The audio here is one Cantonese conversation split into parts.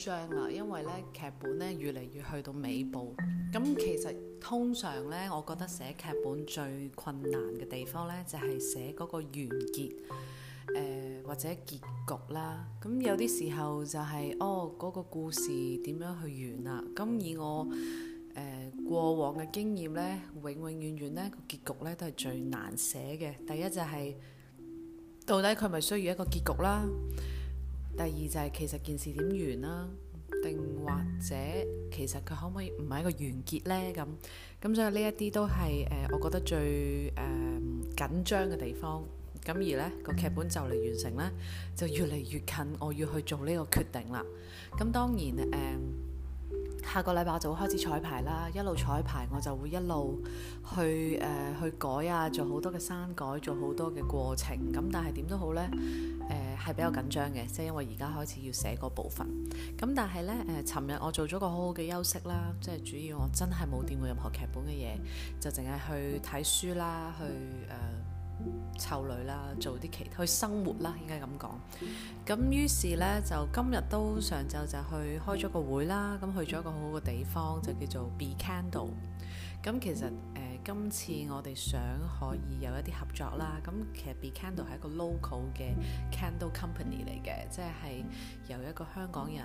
張啦，因為咧劇本咧越嚟越去到尾部。咁其實通常咧，我覺得寫劇本最困難嘅地方咧，就係寫嗰個完結，或者結局啦。咁有啲時候就係嗰個故事點樣去完啦。咁以我過往嘅經驗咧，永遠咧個結局咧都係最難寫嘅。第一就係到底佢咪需要一個結局啦。第二就係其實件事點完啦，定或者其實佢可唔可以唔係一個完結呢？咁所以呢一啲都係我覺得最緊張嘅地方。咁而呢個劇本就嚟完成呢，就越嚟越近我要去做呢個決定啦。咁當然下個禮拜我就會開始彩排啦，一路彩排我就會一路去改啊，做好多嘅刪改，做好多嘅過程。咁但係點都好呢，係比較緊張嘅，即係因為而家開始要寫嗰部分。咁但係呢，尋日我做咗個好好嘅休息啦，即係主要我真係冇掂過任何劇本嘅嘢，就淨係去睇書啦，去湊女啦，做啲去生活啦，應該咁講。咁於是呢，就今日都上晝就去開咗個會啦，咁去咗一個好好嘅地方，就叫做 Be Candle。咁其實今次我哋想可以有一啲合作啦。咁其實 Be Candle 係一個 local 嘅 candle company 嚟嘅，即係由一個香港人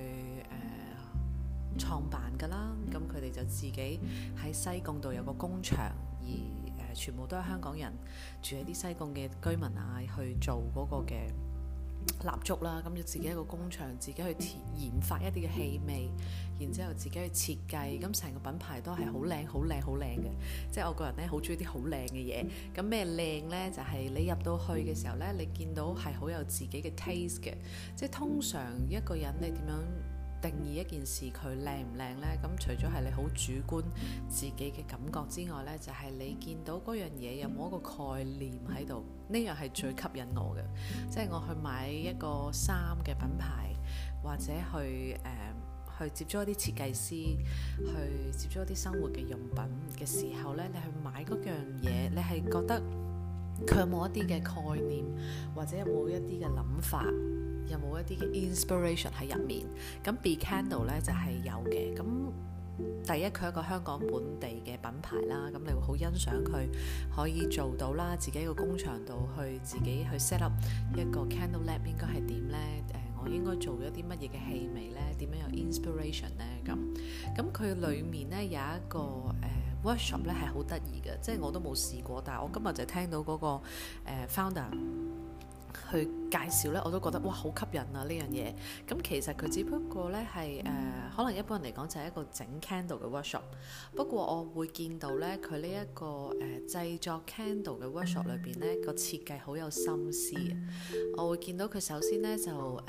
去創辦㗎啦。咁佢哋就自己喺西貢度有個工場，而全部都係香港人住喺啲西貢嘅居民啊，去做嗰個嘅蠟燭啦。咁就自己一個工場，自己去研發一啲嘅氣味，然之後自己去設計。咁成個品牌都係好靚、好靚、好靚嘅。即係我個人咧，好中意啲好靚嘅嘢。咁咩靚呢？就係你入到去嘅時候呢，你見到係好有自己嘅 taste 嘅。即係通常一個人你點樣定義一件事佢靚唔靚呢？咁除咗係你好主觀自己嘅感覺之外呢，就係你見到嗰樣嘢有冇一個概念喺度，呢樣係最吸引我嘅。即係我去買一個衫嘅品牌，或者去接觸一啲設計師，去接觸一啲生活嘅用品嘅時候呢，你去買嗰樣嘢，你係覺得佢有冇一啲嘅概念，或者有冇一啲嘅諗法，有冇一啲嘅 inspiration 喺入面。咁 Be Candle 呢就係有嘅。咁第一，佢係一個香港本地嘅品牌啦，咁你會好欣賞佢可以做到啦，自己一個工場度去自己去 set up 一個 candle lab 應該係點呢？我應該做一啲乜嘢嘅氣味呢？點樣有 inspiration 呢？咁佢裡面呢有一個workshop 呢係好得意嘅，即係我都冇試過，但係我今日就聽到嗰個founder去介紹呢，我都覺得哇好吸引啊呢樣嘢。咁其實佢只不過呢係可能一般人嚟講就係一個整 candle 嘅 workshop。不過我會見到呢，佢呢一個製作 candle 嘅 workshop 裏邊呢個設計好有心思。我會見到佢首先呢就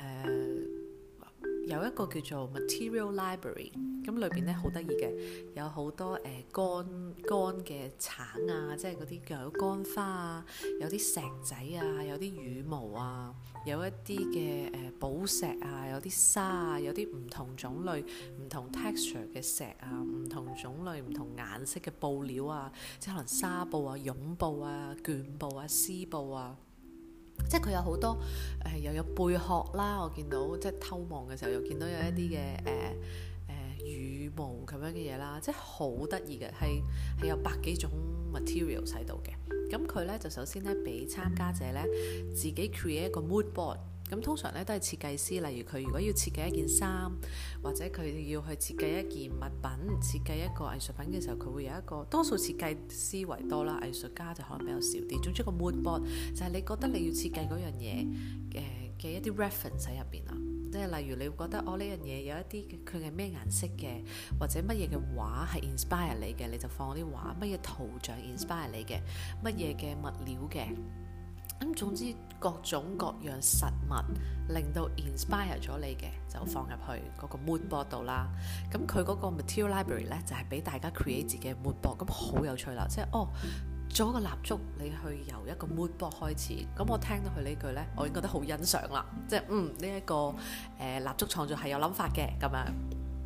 有一個叫做 material library。咁裏邊咧好得意嘅，有好多乾嘅橙啊，即係嗰啲有乾花啊，有啲石仔啊，有啲羽毛啊，有一啲嘅寶石啊，有啲沙啊，有啲唔同種類、唔同 texture 嘅石啊，唔同種類、唔同顏色嘅布料啊，即係可能紗布啊、絨布啊、絹布啊、絲布啊。即係佢有好多又有貝殼啦，我見到即係偷望嘅時候又見到有一啲嘅羽毛咁樣嘅嘢啦，即係好得意嘅，係有百幾種 material 喺度嘅。咁佢咧就首先咧俾參加者咧自己 create 一個 mood board。咁通常咧都係設計師，例如佢如果要設計一件衫，或者佢要去設計一件物品、設計一個藝術品嘅時候，佢會有一個多數設計師為多啦，藝術家就可能比較少啲。總之個 mood board 就係你覺得你要設計嗰樣嘢嘅一啲 reference 喺入邊啊。即係例如你會覺得呢樣嘢有一啲佢係咩顏色嘅，或者乜嘢嘅畫係 inspire 你嘅，你就放啲畫；乜嘢圖像 inspire 你嘅，乜嘢嘅物料嘅。咁總之各種各樣實物令到 inspire 咗你嘅，就放入去嗰個 mood board 度啦。咁佢嗰個 material library 咧就係俾大家 create 自己嘅 mood board。咁好有趣啦，即係做一個蠟燭，你去由一個 mood board 開始。咁我聽到佢呢句呢，我已經覺得好欣賞啦。即係呢一個蠟燭創作係有諗法嘅咁樣。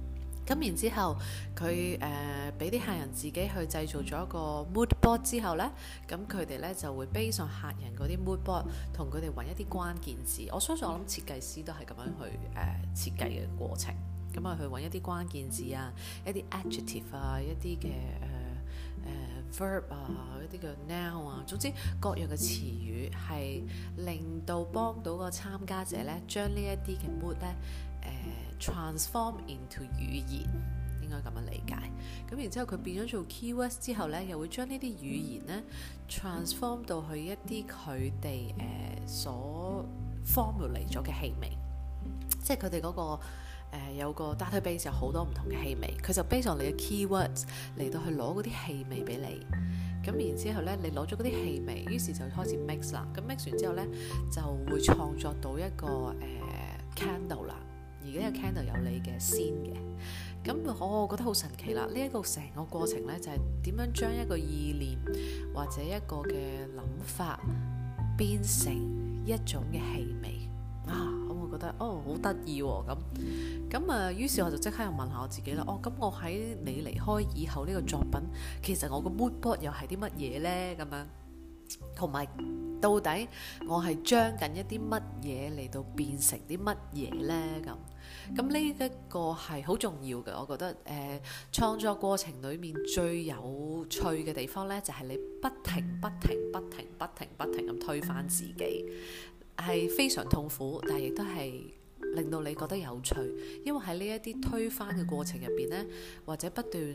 咁然之後，佢俾啲客人自己去製造咗一個 mood board 之後呢，咁佢哋呢就會 base on客人嗰啲 mood board，同佢哋揾一啲關鍵字。我相信我諗設計師都係咁樣去設計嘅過程。咁啊，去揾一啲關鍵字啊，一啲 adjective 啊，一啲嘅verb 啊，一啲嘅 noun 啊，總之各樣嘅詞語係令到幫到個參加者呢，將呢一啲嘅 mood 呢transform into 語言，應該咁樣理解。咁然之後佢變咗做 keywords 之後呢，又會將呢啲語言呢 transform 到去一啲佢哋所 formulate 咗嘅氣味，即係佢哋嗰個有個 database 有好多唔同嘅氣味，佢就 base on你嘅 keywords 嚟到去攞嗰啲氣味俾你。咁然之後呢，你攞咗嗰啲氣味，於是就開始 mix 啦。咁 mix 完之後呢，就會創作到一個candle 啦。而呢個 candle 有你嘅 scene 嘅，咁我覺得好神奇啦！呢一個成個過程呢，就係點樣將一個意念或者一個嘅諗法變成一種嘅氣味啊！咁我覺得好得意喎！咁啊，於是我就即刻又問下我自己啦。咁我喺你離開以後呢個作品，其實我個 mood board 又係啲乜嘢呢？咁樣同埋到底我係將緊一啲乜嘢嚟到變成啲乜嘢呢？咁呢一個係好重要嘅，我覺得創作過程裡面最有趣嘅地方呢，就係你不停咁推翻自己，係非常痛苦，但係亦都係令到你覺得有趣，因為喺呢一啲推翻嘅過程入邊呢，或者不斷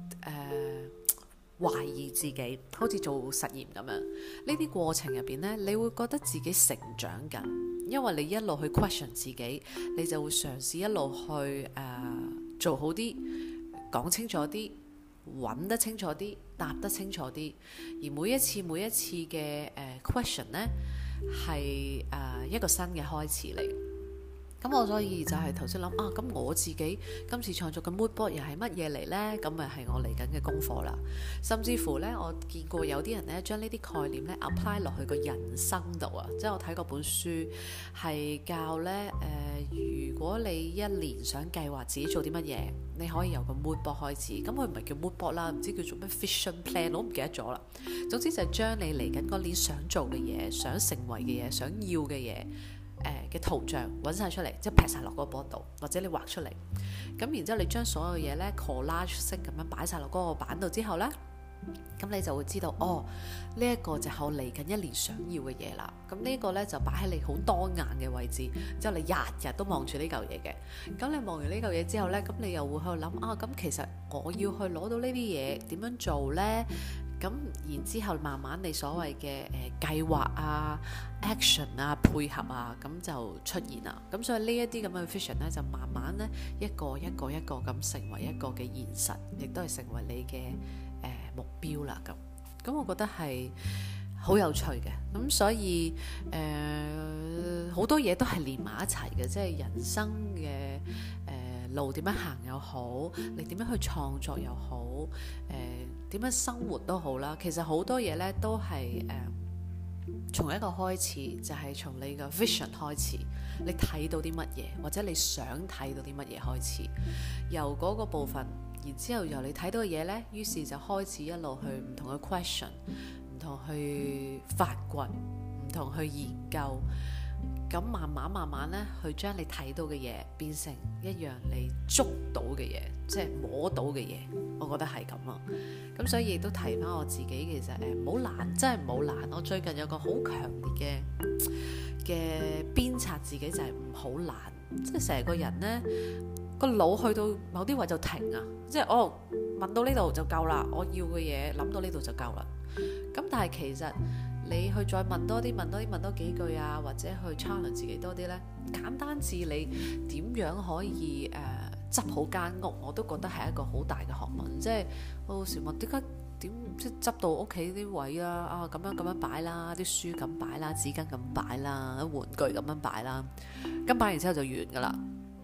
懷疑自己，好似做實驗咁樣，呢啲過程入邊呢，你會覺得自己成長緊，因為你一路去 question 自己，你就會嘗試一路去做好啲，講清楚啲，揾得清楚啲，答得清楚啲，而每一次嘅question 呢，係一個新嘅開始嚟。咁我所以就係頭先諗咁我自己今次創作嘅 mood board 又係乜嘢嚟呢？咁咪係我嚟緊嘅功課啦。甚至乎呢，我見過有啲人呢將呢啲概念呢 apply 落去個人生度啊，即係我睇過本書係教呢，如果你一年想計劃自己做啲乜嘢，你可以由個 mood board 開始。咁佢唔係叫 mood board 啦，唔知叫做咩 vision plan，我唔記得咗啦。總之就係將你嚟緊嗰年想做嘅嘢、想成為嘅嘢、想要嘅嘢嘅圖像揾晒出嚟，即係劈晒落嗰個 board 度，或者你畫出嚟。咁然之後你將所有嘢呢 collage 式咁樣擺晒落嗰個板度之後呢，咁你就會知道呢一個就係我嚟緊一年想要嘅嘢啦。咁呢個呢，就擺喺你好當眼嘅位置，之後你日日都望住呢嚿嘢嘅。咁你望完呢嚿嘢之後呢，咁你又會喺度諗咁其實我要去攞到呢啲嘢點樣做呢？咁然之後慢慢你所謂嘅計劃啊、action 啊、配合啊，咁就出現啦。咁所以呢一啲咁嘅 vision 呢，就慢慢呢一個咁成為一個嘅現實，亦都係成為你嘅目標啦。咁我覺得係好有趣嘅。咁所以好多嘢都係連埋一齊嘅，即係人生嘅路點樣行又好，你點樣去創作又好，點樣生活都好啦。其實好多嘢呢都係從一個開始，就係從你個 vision 開始，你睇到啲乜嘢，或者你想睇到啲乜嘢開始，由嗰個部分，然之後由你睇到嘅嘢呢，於是就開始一路去唔同嘅 question， 唔同去發掘，唔同去研究。咁慢慢呢，去將你睇到嘅嘢變成一樣你捉到嘅嘢，即係摸到嘅嘢。我覺得係咁咯。咁所以亦都提翻我自己，其實唔好懶，真係唔好懶。我最近有個好強烈嘅鞭策自己，就係唔好懶。即係成個人呢個腦去到某啲位就停啊，即係問到呢度就夠啦，我要嘅嘢諗到呢度就夠啦。咁但係其實你去再問多幾句啊，或者去 challenge 自己多啲呢，簡單至你點樣可以執好間屋，我都覺得係一個好大嘅學問。即係我有時問點即係執到屋企啲位啦，咁樣擺啦，啲書咁擺啦，紙巾咁擺啦，玩具咁樣擺啦，咁擺完之後就完噶啦。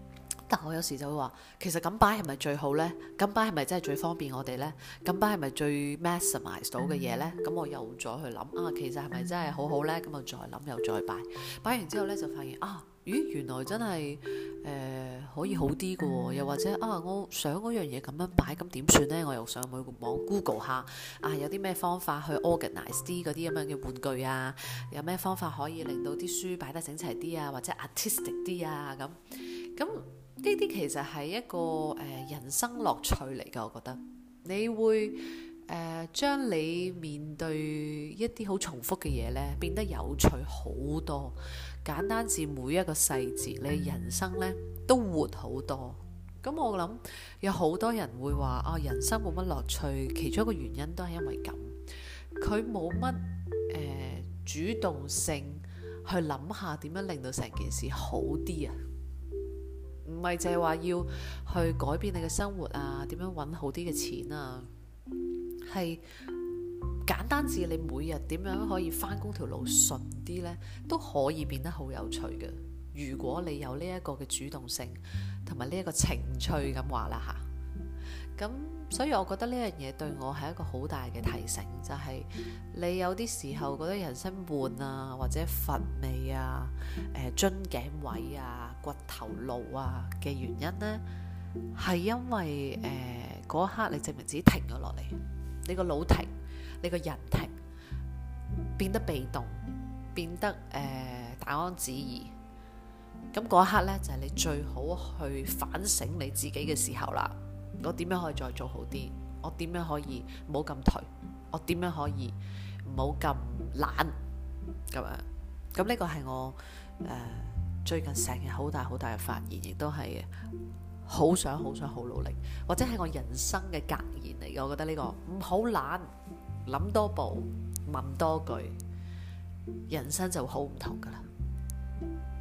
但我有時就會話，其實咁擺係咪最好呢？咁擺係咪真係最方便我哋呢？咁擺係咪最 maximize 到嘅嘢呢？咁我又再去諗啊，其實係咪真係好好呢？咁我再諗又再擺，擺完之後呢，就發現啊，咦，原來真係可以好啲嘅喎，又或者啊，我想嗰樣嘢咁樣擺，咁點算呢？我又上網 Google 下啊，有啲咩方法去 organize 啲嗰啲咁樣嘅玩具啊？有咩方法可以令到啲書擺得整齊啲啊，或者 artistic 啲啊咁。呢啲其實係一個人生樂趣嚟㗎，我覺得你會將你面對一啲好重複嘅嘢呢變得有趣好多，簡單至每一個細節，你人生呢都活好多。咁我諗有好多人會話啊，人生冇乜樂趣，其中一個原因都係因為咁，佢冇乜主動性去諗下點樣令到成件事好啲啊。唔係淨係話要去改變你嘅生活啊，點樣揾好啲嘅錢啊，係簡單至你每日點樣可以返工條路順啲呢，都可以變得好有趣嘅。如果你有呢一個嘅主動性同埋呢一個情趣咁話啦嚇，咁所以我覺得呢樣嘢對我係一個好大嘅提醒，就係你有啲時候覺得人生悶啊，或者乏味啊、樽頸位啊、骨頭路啊嘅原因呢，係因為嗰一刻你證明自己停咗落嚟，你個腦停，你個人停，變得被動，變得大安旨意。咁嗰一刻呢，就係你最好去反省你自己嘅時候啦。我點樣可以再做好啲？我點樣可以唔好咁頹？我點樣可以唔好咁懶？咁樣，咁呢個係我最近成日好大嘅發現，亦都係好想好努力，或者係我人生嘅格言嚟嘅。我覺得呢個唔好懶，諗多步，問多句，人生就好唔同噶啦。